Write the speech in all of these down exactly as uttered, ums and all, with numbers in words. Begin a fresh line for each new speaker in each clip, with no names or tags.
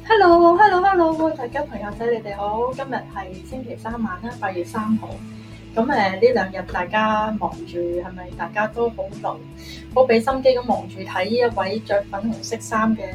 Hello，Hello，Hello， 大家朋友仔，你哋好。今日係星期三晚啦，八月三號。咁誒，呢兩日大家忙住，係咪大家都好勞，好俾心機咁忙住睇呢一位着粉紅色衫嘅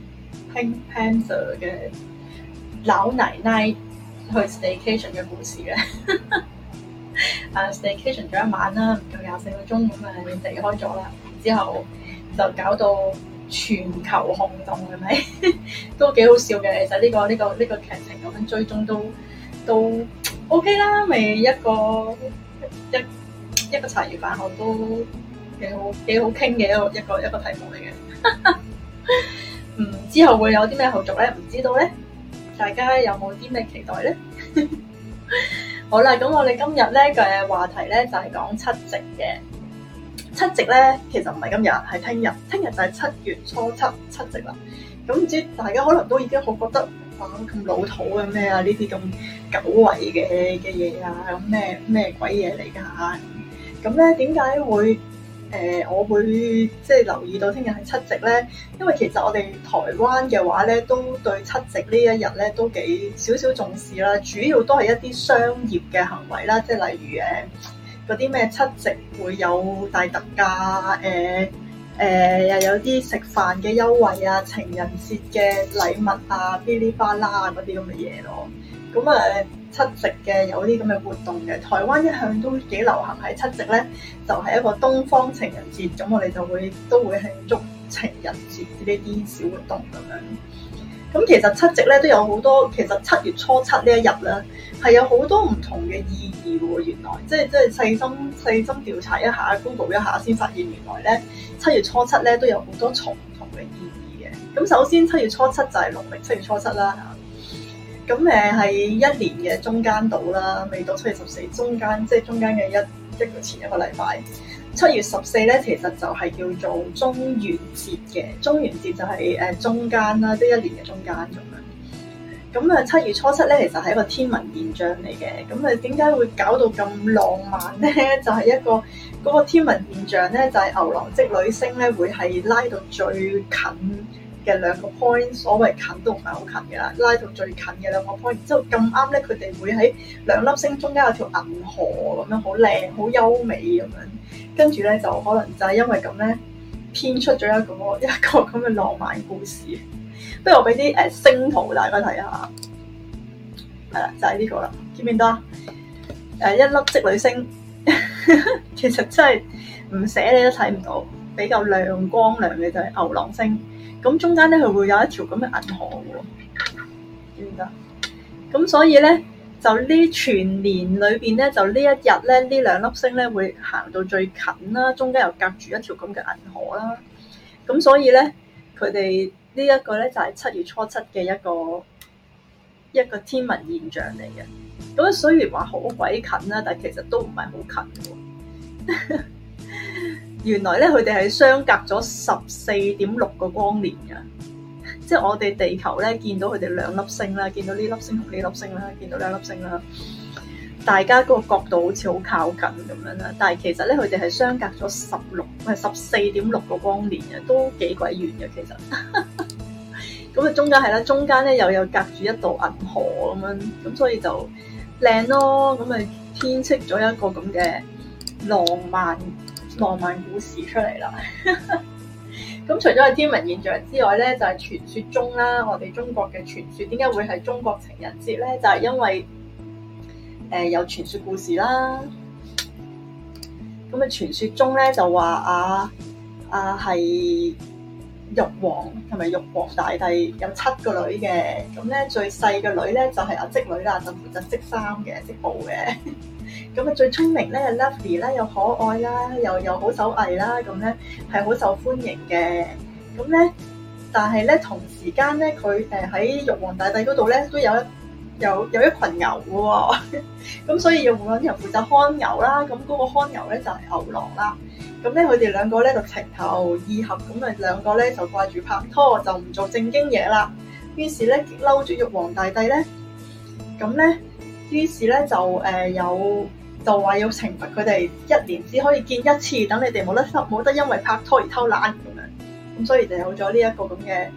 Pink Panther 嘅老奶奶去 staycation 嘅故事咧？啊 ，staycation 咗一晚啦，唔夠廿四個鐘咁啊，離開咗啦。之後就搞到全球轟動，係咪？都幾好笑嘅。其實呢個呢個呢個劇情咁樣追蹤都都 OK 啦，咪一個一一個茶餘飯後都幾好幾好傾嘅一個一個一個題目嚟嘅。嗯，之後會有啲咩後續咧？唔知道咧，大家有冇啲咩期待咧？好啦，咁我哋今日咧嘅話題咧就係講七夕嘅。七夕咧，其實唔係今日，係聽日。聽日就係七月初七七夕啦。咁唔知大家可能都已經好覺得啊咁老土嘅咩啊？呢啲咁久違嘅嘅嘢啊，咁咩咩鬼嘢嚟㗎？咁咧點解會誒、呃、我會即係留意到聽日係七夕咧？因為其實我哋台灣嘅話咧，都對七夕呢一日咧都幾少少重視啦。主要都係一啲商業嘅行為啦，即係例如誒。嗰啲咩七夕會有大特價，誒、呃、誒、呃、又有啲食飯嘅優惠啊，情人節嘅禮物啊，噼哩啪啦嗰啲咁嘅嘢咯。咁啊七夕嘅有啲咁嘅活動嘅，台灣一向都幾流行喺七夕咧，就係、是、一個東方情人節，咁我哋就會都會慶祝情人節呢啲小活動咁樣。咁其實七夕咧都有好多，其實七月初七呢一日咧係有好多唔同嘅意義喎。原來即係即係細心細心調查一下 Google 一下先發現，原來咧七月初七咧都有好多重唔同嘅意義嘅。咁首先七月初七就係農曆七月初七啦嚇。咁誒係一年嘅中間度啦，未到七月十四中間，即係中間嘅一一個前一個禮拜。七月十四咧，其實就係叫做中元節嘅。中元節就係誒中間啦，即係一年嘅中間咁樣。咁啊，七月初七咧，其實係一個天文現象嚟嘅。咁啊，點解會搞到咁浪漫咧？就係、是、一個嗰、那個天文現象咧，就係、是、牛郎織女星咧，會係拉到最近嘅兩個 point， 所謂近都唔係好近嘅啦，拉到最近嘅兩個 point， 然之後咁啱咧，佢哋會喺兩粒星中間有條銀河咁樣，好靚、好優美咁樣。跟住咧，就可能就係因為咁咧，編出咗一個一個咁嘅浪漫故事。不如我俾啲誒星圖大家睇下，係啦，就係、是、呢個啦，見唔見到啊？誒，一粒織女星，其實真係唔寫你都睇唔到，比較亮光亮嘅就係牛郎星。咁中間咧，佢會有一條咁嘅銀河喎，見唔見啊？咁所以咧。就呢全年裏邊咧，就呢一日咧，呢兩粒星咧會行到最近啦，中間又隔住一條咁嘅銀河啦。咁所以咧，佢哋呢一個咧就係七月初七嘅一個一個天文現象嚟嘅。咁雖然話好鬼近啦，但係其實都唔係好近嘅。原來咧，佢哋係相隔咗十四點六個光年嘅。即係我哋地球咧，見到佢哋兩粒星啦，見到呢粒星同呢粒星啦，見到兩粒星啦，大家嗰個角度好似好靠近咁樣啦。但係其實咧，佢哋係相隔咗十六，唔係十四點六個光年嘅，都幾鬼遠嘅其實。咁啊，中間係啦，中間咧又有隔住一道銀河咁樣，咁所以就靚咯。咁啊，編織咗一個咁嘅浪漫浪漫故事出嚟啦。咁除咗係天文現象之外咧，就係、是、傳說中啦，我哋中國嘅傳說點解會係中國情人節咧？就係、是、因為誒、呃、有傳說故事啦。咁啊，傳說中咧就話啊啊係玉皇同埋玉皇大帝有七個女嘅，咁咧最細嘅女咧就係阿織女啦，就負責織衫嘅、織布嘅。咁啊，最聰明咧，Lovely 啦，又可愛啦，又又好手藝啦，咁咧係好受歡迎嘅。咁咧，但係咧同時間咧，佢誒喺玉皇大帝嗰度咧都有一有有一群牛嘅喎。咁所以要揾人負責看牛啦。咁嗰個看牛咧就係牛郎啦。咁咧佢哋兩個咧就情投意合，咁啊兩個咧就掛住拍拖，就唔做正經嘢啦。於是咧激嬲住玉皇大帝咧，咁咧。於是咧就誒、呃、有就話要懲罰佢哋一年只可以見一次，等你哋冇得冇得因為拍拖而偷懶咁樣，咁所以就有咗呢一個咁嘅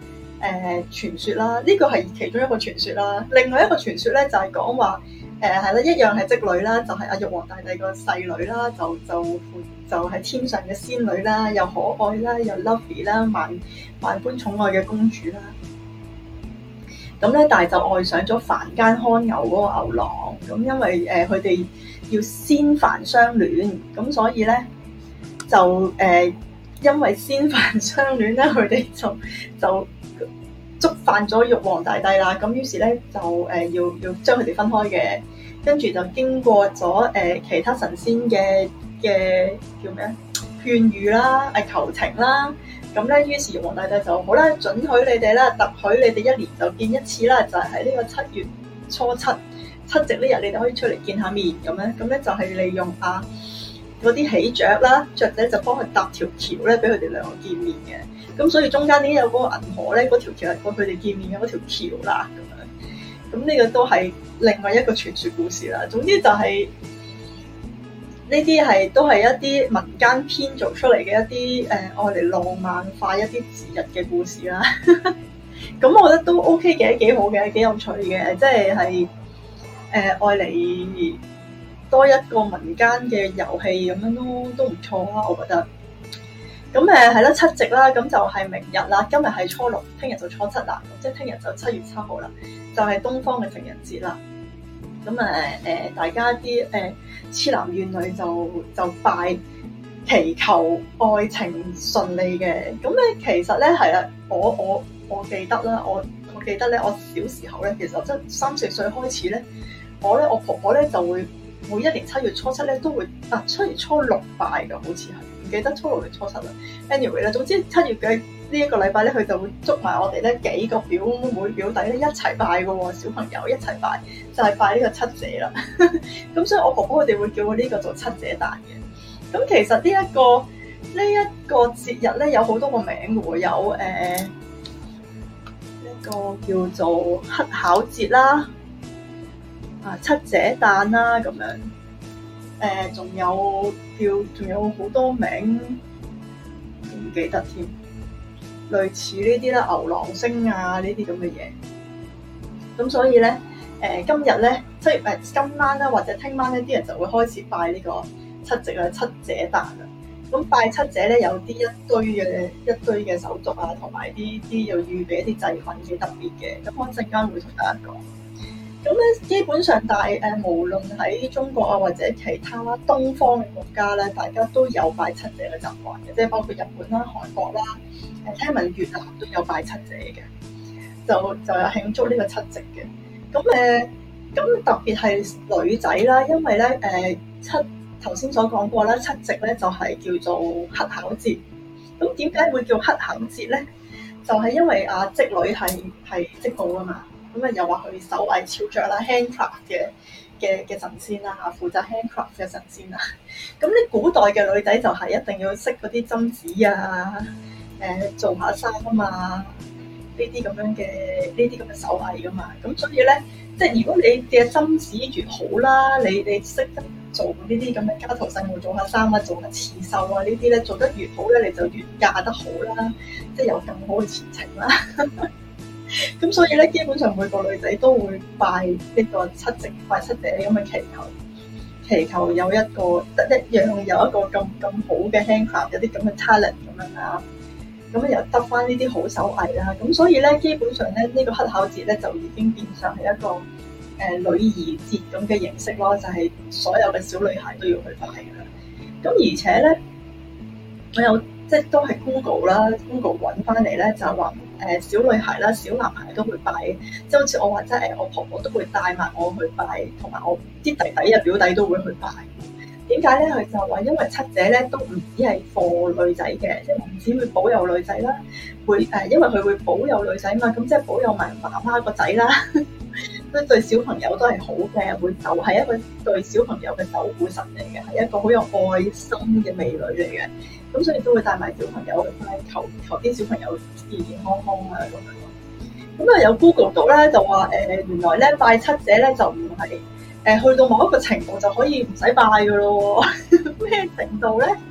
誒傳說啦，呢個係其中一個傳說啦。另外一個傳說咧就係講話誒係啦，一樣係織女啦，就係阿玉皇大帝個細女啦，就就就係天上嘅仙女啦，又可愛啦，又 lovely 啦，萬萬般寵愛嘅公主啦。咁咧，但係就愛上咗凡間看牛嗰個牛郎。咁因為誒佢哋要仙凡相戀，咁所以咧就誒、呃、因為仙凡相戀咧，佢哋就就觸犯咗玉皇大帝啦。咁於是咧就誒、呃、要要將佢哋分開嘅，跟住就經過咗誒、呃、其他神仙嘅嘅叫咩啊勸喻啦，誒求情啦。咁咧，於是玉皇大帝就好啦，准許你哋啦，特許你哋一年就見一次啦，就係喺呢個七月初七七夕呢日，你哋可以出嚟見下面咁樣。咁咧就係利用啊嗰啲喜雀啦，雀仔就幫佢搭條橋咧，俾佢哋兩個見面嘅。咁所以中間已經有嗰個銀河咧，嗰條橋係過佢哋見面嘅嗰條橋啦。咁樣，咁呢個都係另外一個傳說故事啦。總之就係、是。呢啲係都係一啲民間編造出嚟嘅一啲誒愛嚟浪漫化一啲節日嘅故事啦。咁我覺得都 OK 嘅，幾好嘅，幾有趣嘅，即係係誒愛嚟多一個民間嘅遊戲咁樣都都唔錯啦，我覺得。咁誒係啦，七夕啦，咁就係明日啦，今日係初六，聽日就初七啦，即係聽日就七月七號啦，就係、是、東方嘅情人節啦。咁啊誒，大家啲誒痴男怨女就就拜祈求愛情順利嘅。咁咧其實咧係啊，我我我記得啦，我我記得咧，我小時候咧，其實真三四歲開始咧，我咧我婆婆咧就會每一年七月初七咧都會啊七月初六拜㗎，好似係唔記得初六定初七啦。anyway 咧，總之七月嘅呢一個禮拜咧，佢就會捉埋我哋咧幾個表妹表弟咧一齊拜嘅喎，小朋友一齊拜，就係、是、拜呢個七姐啦。咁所以我婆婆佢哋會叫我呢個做七姐誕嘅。咁其實呢、這、一個呢一、這個節日咧有好多個名嘅喎，有誒、呃、一個叫做乞巧節啦，啊七姐誕啦咁樣，誒、呃、仲有叫仲有好多名唔記得添。類似呢啲啦，牛郎星啊呢啲咁嘅嘢，咁所以咧，誒、呃、今日咧，七月誒今晚啦，或者聽晚咧，啲人就會開始拜呢個七夕啦、七姐誕啦。咁拜七姐咧，有啲一堆嘅一堆嘅手續啊，同埋啲啲要預備一啲祭品幾特別嘅。咁我陣間會同大家講。咁咧，基本上大誒、呃，無論喺中國啊，或者其他東方嘅國家咧，大家都有拜七姐嘅習慣嘅，即係包括日本啦、韓國啦。誒聽聞越南都有拜七姐嘅，就就有慶祝呢個七夕嘅。咁誒，咁特別係女仔啦，因為咧誒、呃、七頭先所講過啦，七夕咧就係、是、叫做乞巧節。咁點解會叫乞巧節咧？就係、是、因為啊織女係係織布啊嘛。咁啊又話佢手藝超卓啦 ，handcraft 嘅嘅嘅神仙啦，負責 handcraft 嘅神仙啦。咁啲古代嘅女仔就係一定要識嗰啲針子啊。誒做下衫啊嘛，呢啲咁樣嘅呢啲咁嘅手藝噶嘛，咁所以咧，即係如果你嘅針子越好啦，你你識得做呢啲咁嘅家頭細務，做下衫啊，做下刺繡啊，呢啲咧做得越好咧，你就越嫁得好啦，即係有更好嘅前程啦。咁所以咧，基本上每個女仔都會拜呢個七夕，拜七姐咁嘅祈求，祈求有一個得一樣有一個咁咁好嘅 handcraft，有啲咁嘅 talent 咁樣啊。咁又得翻呢啲好手藝啦，咁所以咧，基本上咧，呢、這個乞巧節咧就已經變相係一個誒、呃、女兒節咁嘅形式咯，就係、是、所有嘅小女孩都要去拜㗎啦。咁而且咧，我有即係都係 Google 啦 ，Google 揾翻嚟咧就話誒小女孩啦、小男孩都會拜，即係好似我話齋誒，我婆婆都會帶埋我去拜，同埋我啲弟弟啊表弟都會去拜。點解咧？佢就話因為七姐咧都唔止係貨女仔嘅，即係唔止會保佑女仔啦，會誒，因為佢會保佑女仔嘛，咁即係保佑埋媽媽個仔啦，都對小朋友都係好嘅，會就係一個對小朋友嘅守護神嚟嘅，係一個好有愛心嘅美女嚟嘅，咁所以都會帶埋小朋友去拜，求求啲小朋友健健康康啊咁樣。咁啊有 Google 到咧就話誒、呃，原來咧拜七姐咧就唔係。誒去到某一個程度就可以唔使拜㗎咯喎，咩程度咧？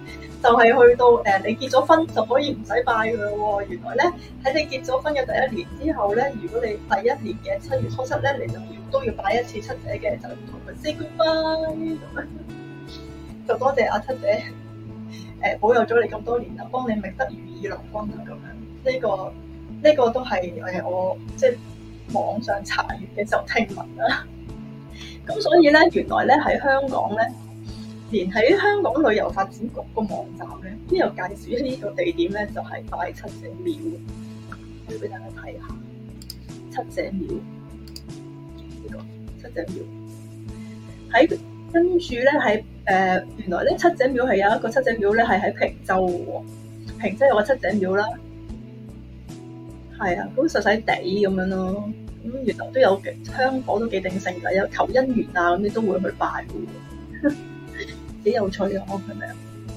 就係、是、去到誒、呃、你結咗婚就可以唔使拜佢咯喎。原來咧喺你結咗婚嘅第一年之後咧，如果你第一年嘅七月初七咧，你就要都要拜一次七姐嘅，就同佢 say goodbye 咁樣。就多謝阿七姐誒、呃、保佑咗你咁多年啦，幫你覓得如意郎君啊咁樣。呢、這個呢、這個都係誒我即係網上查閲嘅時候聽聞啦。咁所以咧，原來咧喺香港咧，連喺香港旅遊發展局個網站咧，都有介紹呢個地點咧，就係、是、拜七姐廟。我要俾大家睇下七姐廟呢、這個七姐廟喺跟住咧喺誒原來咧七姐廟係有一個七姐廟咧係喺坪洲嘅喎，坪洲有個七姐廟啦，係啊，咁細細地咁樣咯。咁原來都有香港都幾鼎盛㗎，有求姻緣啊咁，你都會去拜嘅，幾有趣啊！係咪啊？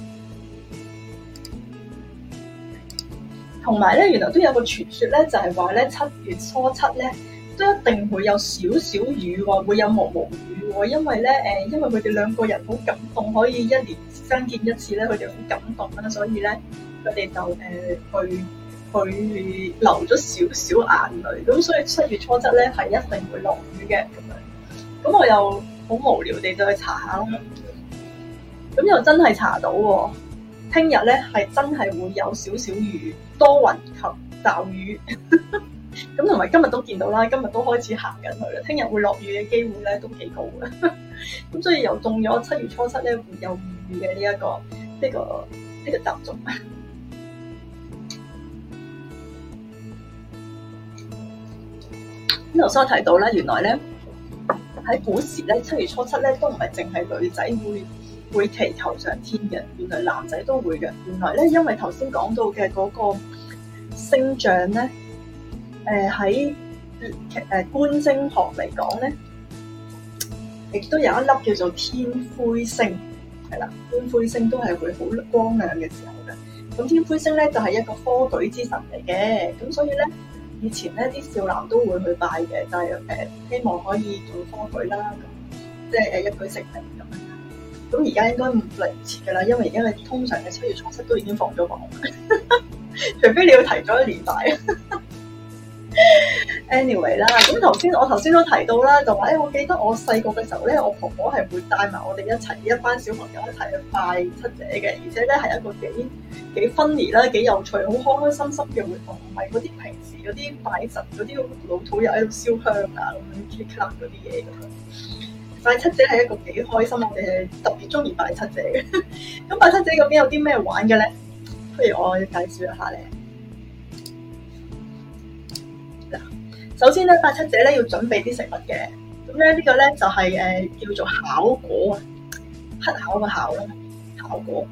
同埋咧，原來都有個傳說咧，就係話咧七月初七咧都一定會有少少雨喎，會有毛毛雨喎，因為咧誒，因為佢哋兩個人好感動，可以一年相見一次咧，佢哋好感動啦，所以咧佢哋就誒、呃、去。佢流咗少少眼淚，咁所以七月初七咧係一定會落雨嘅咁樣。咁我又好無聊地就去查下啦，咁又真係查到喎。聽日咧係真係會有少少雨，多雲及驟雨。咁同埋今日都見到啦，今日都開始行緊去啦。聽日會落雨嘅機會咧都幾高嘅。咁所以又中咗七月初七咧會有雨嘅呢一個呢、呢個呢、呢個習俗。頭先我提到咧，原來咧喺古時咧，七月初七咧都唔係淨係女仔會會祈求上天嘅，原來男仔都會嘅。原來咧，因為頭先講到嘅嗰個星象咧，誒喺誒觀星學嚟講咧，亦都有一粒叫做天魁星，係啦，天魁星都係會好光亮嘅時候嘅。咁天魁星咧就係、是、一個科舉之神嚟嘅，咁所以咧。以前咧啲少男都會去拜嘅，就係、是、誒、呃、希望可以做科舉啦，咁即係誒一舉成名咁樣。咁而家應該唔嚟唔切㗎啦，因為而家通常嘅七月初七都已經放咗榜，除非你要提早一年拜。Anyway 啦，咁頭先我頭先都提到啦，就話誒、欸，我記得我細個嘅時候咧，我婆婆係會帶埋我哋一齊一班小朋友一齊去拜七姐嘅，而且咧係一個幾幾 funny 啦，幾有趣，好開開心心嘅活動，唔係嗰啲平時嗰啲拜神嗰啲老土友喺度燒香啊咁樣 click clap 嗰啲嘢咁樣。拜七姐係一個幾開心，我哋係特別中意拜七姐嘅。咁拜七姐究竟有啲咩玩嘅咧？不如我介紹一下咧。嗱，首先咧拜七姐咧要準備啲食物嘅，咁咧呢個咧就係、是、誒、呃、叫做巧果啊，乞巧嘅巧啦，巧果。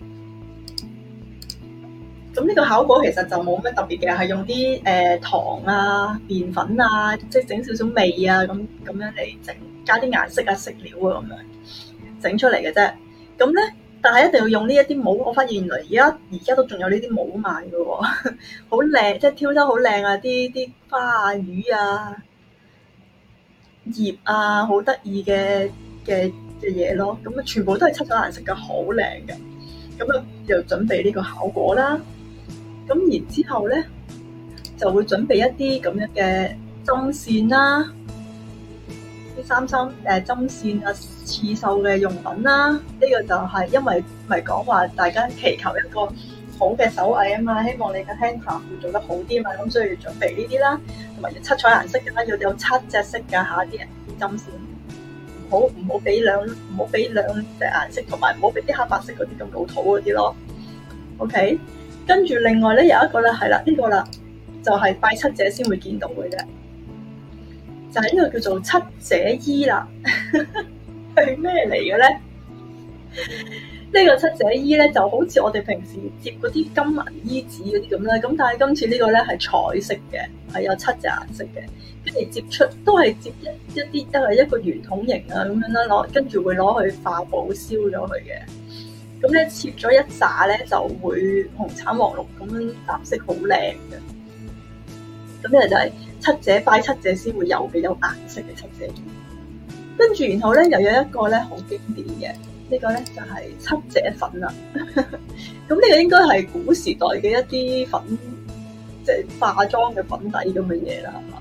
咁呢個巧果其實就冇咩特別嘅，係用啲誒、呃、糖啊、麵粉啊，即係整少少味啊，咁咁樣嚟整，加啲顏色啊、色料啊咁樣整出嚟嘅啫。咁咧，但係一定要用呢一啲帽。我發現原來而家而家都仲有呢啲帽賣嘅喎，好靚，即係挑得好靚啊！啲啲花啊、魚啊、葉啊，好得意嘅嘅嘅嘢咯。咁啊，全部都係七種顏色嘅，好靚嘅。咁啊，又準備呢個巧果啦。咁然之後咧，就會準備一啲咁樣嘅針線啦，啲三針誒針線啊、刺繡嘅用品啦。呢、這個就係因為咪講話大家祈求一個好嘅手藝啊嘛，希望你嘅 handcraft 會做得好啲嘛，咁所以要準備呢啲啦，同埋要七彩顏色嘅啦，要有七隻色㗎嚇啲人啲針線，唔好唔好俾兩唔好俾兩隻顏色，同埋唔好俾啲黑白色嗰啲咁老土嗰啲咯。OK。跟住另外咧有一個咧係啦，呢個啦就係拜七姐先會見到嘅啫，就係呢個叫做七姐衣啦。係咩嚟嘅咧？呢個七姐衣咧就好似我哋平時摺嗰啲金銀衣紙嗰啲咁啦，咁但係今次呢個咧係彩色嘅，係有七隻顏色嘅，跟住摺出都係摺一一啲都係一個圓筒形啊咁樣啦，攞跟住會攞去化寶燒咗佢嘅。咁咧切咗一紮咧就會紅橙黃綠咁樣顏色好靚嘅。咁呢就係七姐拜七姐先會有嘅有顏色嘅七姐衣。跟住然後咧又有一個咧好經典嘅， 呢個咧就係七姐粉啦。咁呢個應該係古時代嘅一啲粉，即係化妝嘅粉底咁嘅嘢啦，係嘛？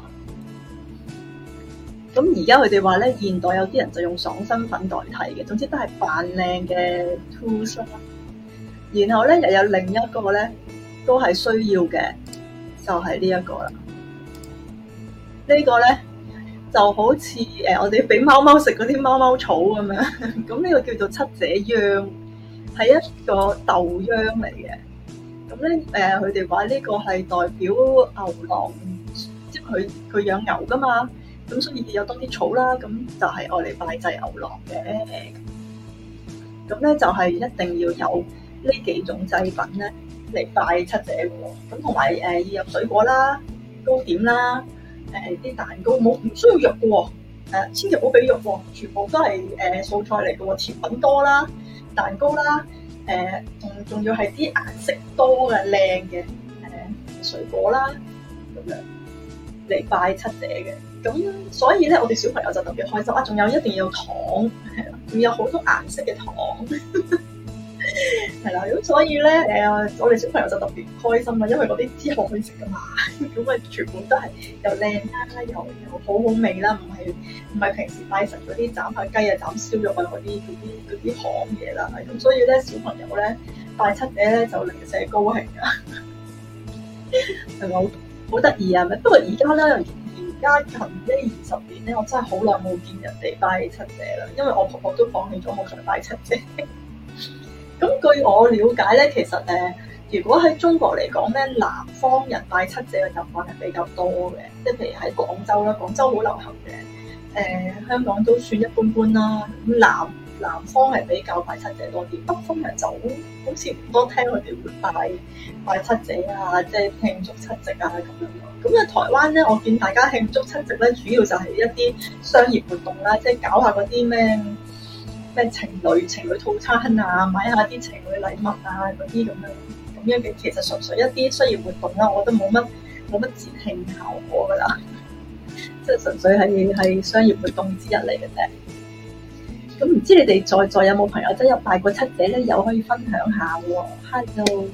咁而家佢哋話咧，現代有啲人就用爽身粉代替嘅，總之都係扮靚嘅 tools 啦。然後咧又有另一個咧，都係需要嘅，就係呢一個啦。呢個咧就好似誒，我哋俾貓貓食嗰啲貓貓草咁樣。咁呢個叫做七姐秧，係一個豆秧嚟嘅。咁咧誒，佢哋話呢個係代表牛郎，即係佢佢養牛噶嘛。咁所以有多啲草啦，咁就係愛嚟拜祭牛郎嘅。咁咧就係一定要有呢幾種祭品咧嚟拜七姐嘅喎。咁同埋誒要有水果啦、糕點啦、誒啲蛋糕，冇唔需要肉嘅喎。誒千祈唔好俾肉喎，全部都係誒素菜嚟嘅喎。甜品多啦，蛋糕啦，誒仲仲要係啲顏色多嘅靚嘅誒水果啦，咁樣嚟拜七姐嘅。咁所以咧，我哋小朋友就特別開心啊！仲有一定要糖，係啦，仲有好多顏色嘅糖，係啦。咁所以咧，誒，我哋小朋友就特別開心啦，因為嗰啲之後可以食噶嘛。咁啊，全部都係又靚啦，又又好好味啦，唔係唔係平時拜神嗰啲斬下雞啊、斬燒肉啊嗰啲嗰啲嗰啲行嘢啦。咁所以咧，小朋友咧拜七姐咧就零舍高興噶，係咪好好得意啊？咪不過而家咧。而家近呢二十年咧，我真係好耐冇見人哋拜七姐啦，因為我婆婆都放棄咗好想拜七姐。咁據我了解咧，其實誒、呃，如果喺中國嚟講咧，南方人拜七姐嘅習慣係比較多嘅，即係譬如喺廣州啦，廣州好流行嘅，誒、呃、香港都算一般般啦。咁南南方係比較拜七姐多啲，北方人就好好似唔多聽佢哋會拜拜七姐啊，即係慶祝七夕啊咁樣。咁啊，台灣咧，我見大家慶祝七夕咧，主要就係一啲商業活動啦，即係搞下嗰啲咩咩情侶情侶套餐啊，買下啲情侶禮物啊嗰啲咁樣咁樣嘅，其實純粹一啲商業活動啦，我覺得冇乜冇乜節慶效果噶啦，即係純粹係係商業活動之一嚟嘅啫。咁唔知你哋在座有冇朋友真有拜過七姐咧？又可以分享下喎。Hello。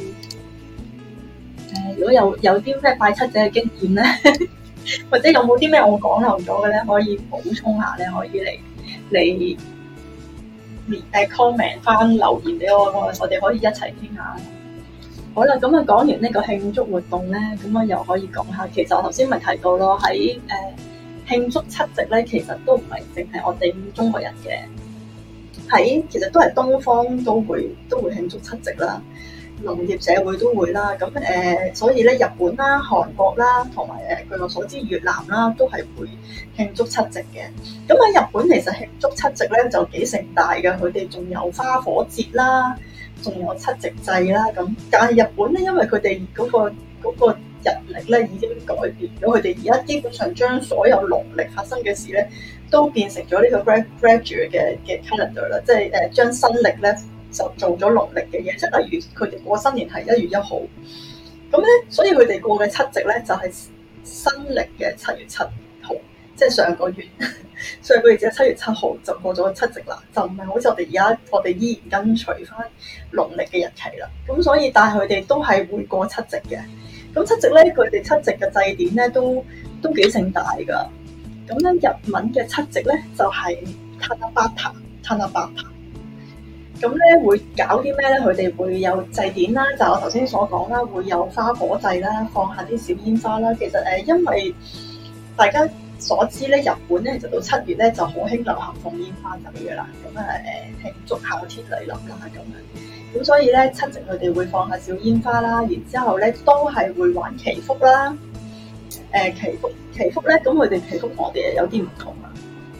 誒，如果有有啲咩拜七姐嘅經驗咧，或者有冇啲咩我講漏咗嘅咧，可以補充下咧，可以嚟嚟誒 comment 翻留言俾我，我我哋可以一齊傾下。好啦，咁啊講完呢個慶祝活動咧，咁啊又可以講下，其實我頭先咪提到咯，喺誒慶祝七夕咧，其實都唔係淨係我哋中國人嘅，喺其實都係東方都會都會慶祝七夕啦。農業社會都會啦，咁誒、呃，所以咧日本啦、韓國啦，同埋誒據我所知越南啦，都係會慶祝七夕嘅。咁喺日本其實慶祝七夕咧就幾盛大嘅，佢哋仲有花火節啦，仲有七夕祭啦。咁但係日本咧，因為佢哋嗰個嗰、嗰個日曆咧已經改變咗，佢哋而家基本上將所有農曆發生嘅事咧都變成咗呢個 graduate 嘅嘅 calendar 啦，即係誒將新曆咧。就做咗農曆嘅嘢，即係例如佢哋過新年係一月一號，咁咧，所以佢哋過嘅七夕咧就係新曆嘅七月七號，即係上個月，上個月即係七月七號就過咗七夕啦，就唔係好似我哋而家我哋依然跟隨翻農曆嘅日期啦。咁所以，但係佢哋都係會過七夕嘅。咁七夕咧，佢哋七夕嘅祭典咧都都幾盛大㗎。咁咧日文嘅七夕咧就係 Tanabata Tanabata。咁咧會搞啲咩咧？佢哋會有祭典啦，就我頭先所講啦，會有花火祭啦，放下啲小煙花啦。其實誒，因為大家所知咧，日本咧就到七月咧就好興流行放煙花仔嘅啦。咁啊誒，慶祝夏天嚟臨啦咁樣。咁所以咧，七夕佢哋會放下小煙花啦，然之後咧都係會玩祈福啦。誒、呃、祈福祈福咧，咁佢哋祈福我哋有啲唔同啊。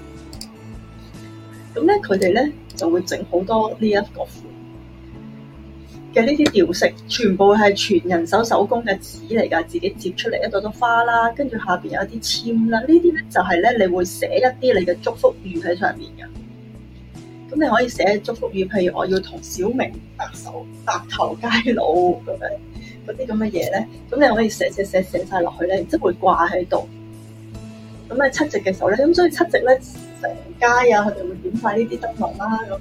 咁咧，佢哋咧就會整好多呢一個款嘅呢啲吊飾，全部係全人手手工嘅紙嚟㗎，自己折出嚟一朵朵花啦，跟住下邊有啲籤啦。呢啲咧就係咧，你會寫一啲你嘅祝福語喺上面㗎。咁你可以寫祝福語，譬如我要同小明白手白頭偕老咁樣嗰啲咁嘅嘢咧，咁你可以寫寫寫寫晒落去咧，即係會掛喺度。咁喺七夕嘅時候咧，咁所以七夕咧。成街啊，佢哋會點晒呢啲燈籠啦，咁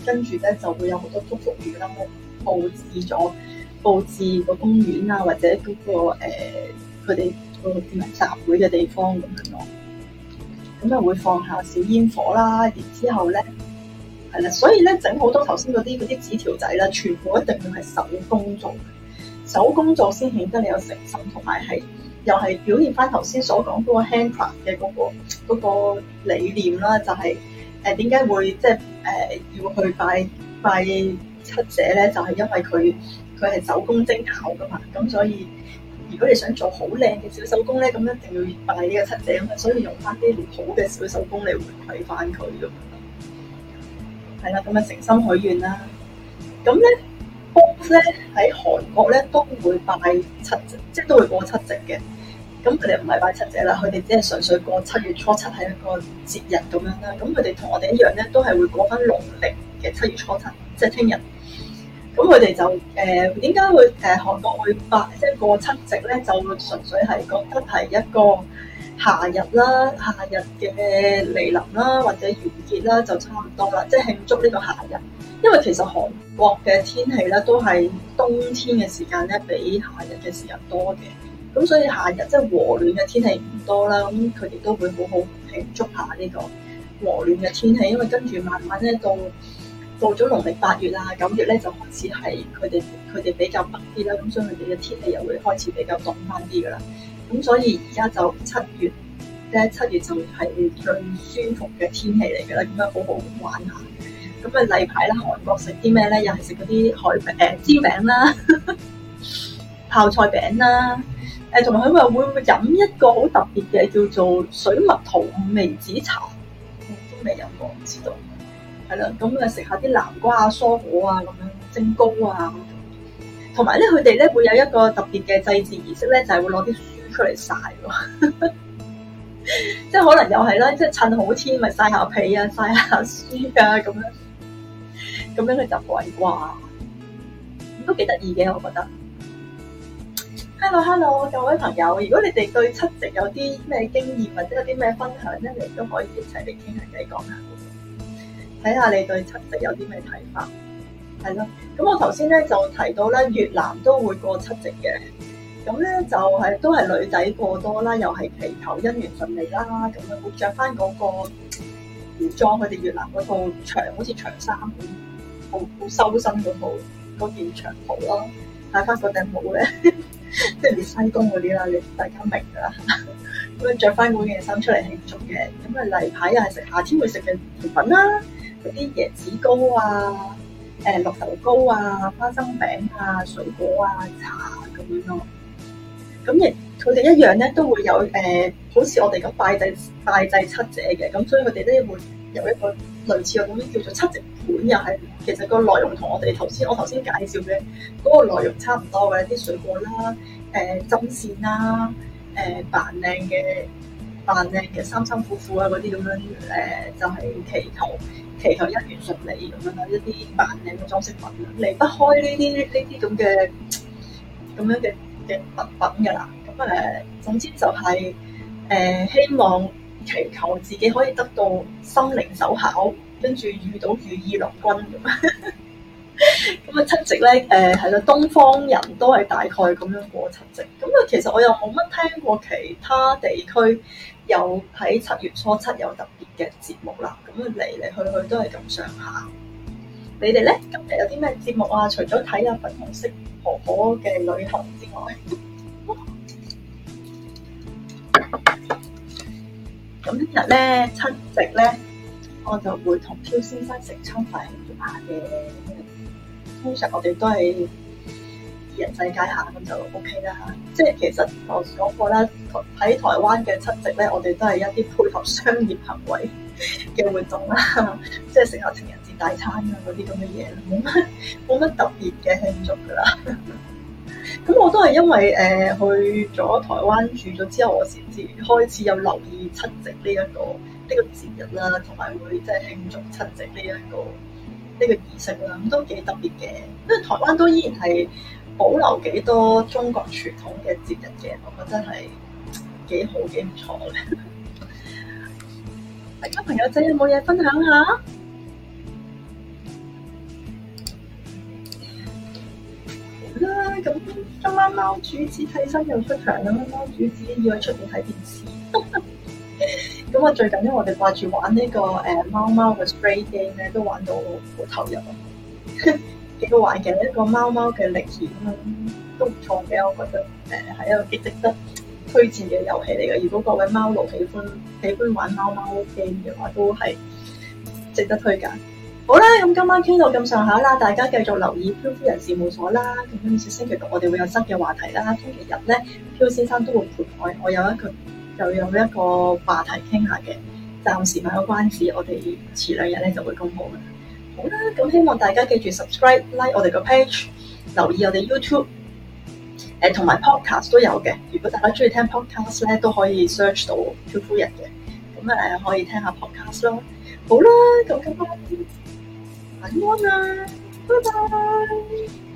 跟住咧就會有好多祝福語啦，佈置咗佈置個公園啊，或者嗰、那個佢哋個叫咩集會嘅地方咁樣咯。咁啊會放下小煙火啦，然之後咧係啦，所以咧整好多頭先嗰啲嗰啲紙條仔啦，全部一定要係手工做，手工做先顯得你有誠心，同埋係又係表現翻頭先所講嗰個 handcraft 嘅嗰、嗰個嗰個理念啦，就係誒點解會即係誒要去拜拜七姐咧？就係、係、因為佢佢係手工精巧噶嘛，咁所以。如果你想做好靚嘅小手工咧，咁一定要拜呢個七姐咁啊，所以用翻啲好嘅小手工嚟回饋翻佢咁樣。係啦，咁啊誠心許願啦。咁咧 both 咧喺韓國咧都會拜七姐，即係都會過七夕嘅。咁佢哋唔係拜七姐啦，佢哋只係純粹過七月初七係一個節日咁樣啦。咁佢哋同我哋一樣咧，都係會過翻農曆嘅七月初七，即係聽日。咁佢哋就誒點解會誒、呃、韓國會拜即係過七夕咧？就會純粹係覺得係一個夏日啦，夏日嘅來臨啦，或者完結啦，就差唔多啦，即係慶祝呢個夏日。因為其實韓國嘅天氣咧都係冬天嘅時間咧比夏日嘅時間多嘅，咁所以夏日即係和暖嘅天氣唔多啦，咁佢哋都會好好慶祝下呢個和暖嘅天氣，因為跟住慢慢咧到。到咗農曆八月啊、九月咧，就開始係佢哋佢哋比較北啲啦，咁所以佢哋嘅天氣又會開始比較凍翻啲噶啦。咁所以而家就七月咧，七月就係最舒服嘅天氣嚟噶啦，咁樣好好玩下。咁啊例牌啦，韓國食啲咩咧？又係食嗰啲海餅、誒、呃、煎餅啦、泡菜餅啦。誒同埋佢話會唔會飲一個好特別嘅叫做水蜜桃五味子茶？我都未飲過，唔知道。係啦，咁啊食下啲南瓜啊、蔬果啊咁樣蒸糕啊，同埋咧佢哋咧會有一個特別嘅祭祀儀式咧，就係、是、會攞啲書出嚟曬喎，即係可能又係啦，即係趁好天咪曬下被啊、曬下書啊咁樣，咁樣嘅習慣啩，都幾得意嘅我覺得。Hello Hello，各位朋友，如果你哋對七夕有啲咩經驗或者有啲咩分享咧，你都可以一齊嚟傾下偈講下。睇下你對七夕有啲咩睇法，係咯。咁我頭先咧就提到咧，越南都會過七夕嘅。咁咧就係、是、都係女仔過多啦，又係祈求姻緣順利啦。咁樣會着翻嗰個服裝，佢哋越南嗰套長好似長衫咁，好好修身嗰套嗰件長袍咯，戴翻個頂帽咧，即係西東嗰啲啦，你大家明㗎啦。咁樣着翻嗰件衫出嚟慶祝嘅。咁啊例牌又係食夏天會食嘅甜品啦。嗰啲椰子糕啊、誒、呃、綠豆糕啊、花生餅啊、水果啊、茶咁樣咯。咁亦佢哋一樣咧，都會有誒、呃，好似我哋咁拜祭拜祭七姐嘅。咁所以佢哋咧會有一個類似嘅咁樣叫做七夕盤，又係其實個內容同我哋頭先我頭先介紹嘅嗰個內容差唔多嘅，啲水果啦、誒針線啦、誒扮靚嘅扮靚嘅三三褲褲啊嗰啲咁樣誒、呃，就係、是、祈求。祈求姻緣順利咁樣啦，一啲扮靚嘅裝飾品，離不開呢啲呢啲咁嘅咁樣嘅嘅物品㗎啦。咁誒，總之就係、是、誒、呃、希望祈求自己可以得到心靈手巧，跟住遇到如意郎君咁。咁啊七夕咧誒係啦，東方人都係大概咁樣過七夕。咁啊其實我又冇乜聽過其他地區有喺七月初七有特別嘅節目啦。咁啊嚟嚟去去都係咁上下。你哋咧今日有啲咩節目啊？除咗睇下粉紅色婆婆嘅旅行之外，咁聽日咧七夕咧，我就會同漂先生食餐飯慶祝下嘅。通常我哋都係二人世界下咁就 O K 啦。即係其實我講過啦，喺台灣嘅七夕咧，我哋都係一啲配合商業行為嘅活動啦，即係食下情人節大餐啊嗰啲咁嘅嘢，冇乜冇乜特別嘅慶祝噶啦。咁我都係因為誒、呃、去咗台灣住咗之後，我先至開始有留意七夕呢、這、一個呢、這個節日啦，同埋會即係慶祝七夕呢、這、一個。呢個儀式啦，咁都幾特別嘅，因為台灣都依然係保留幾多中國傳統嘅節日嘅，我覺得係幾好幾唔錯嘅。大家朋友仔有冇嘢分享下？ 貓貓主子替身又出場啦！貓貓主子要去出邊睇電視。咁我最近因為我哋掛住玩呢、這個誒、呃、貓貓嘅 spray game 咧，都玩到好投入啊！幾好玩嘅一個貓貓嘅歷險啦，都唔錯嘅，我覺得誒係、呃、一個幾值得推薦嘅遊戲嚟嘅。如果各位貓奴喜歡喜歡玩貓貓 game 嘅話，都係值得推介。好啦，咁今晚傾到咁上下啦，大家繼續留意漂夫人事務所啦。咁跟住星期六我哋會有新嘅話題啦。星期日咧，漂先生都會陪我，我有一個又有一個話題傾下嘅。暫時賣個關子，我哋遲兩日咧就會公布啦。好啦，咁希望大家記住 subscribe、like 我哋個 page，留意我哋 YouTube，誒同埋 podcast 都有嘅。如果大家中意聽 podcast 咧，都可以 search 到漂夫人嘅，咁誒可以聽下 podcast 咯。好啦，咁今晚晚安啦，拜拜。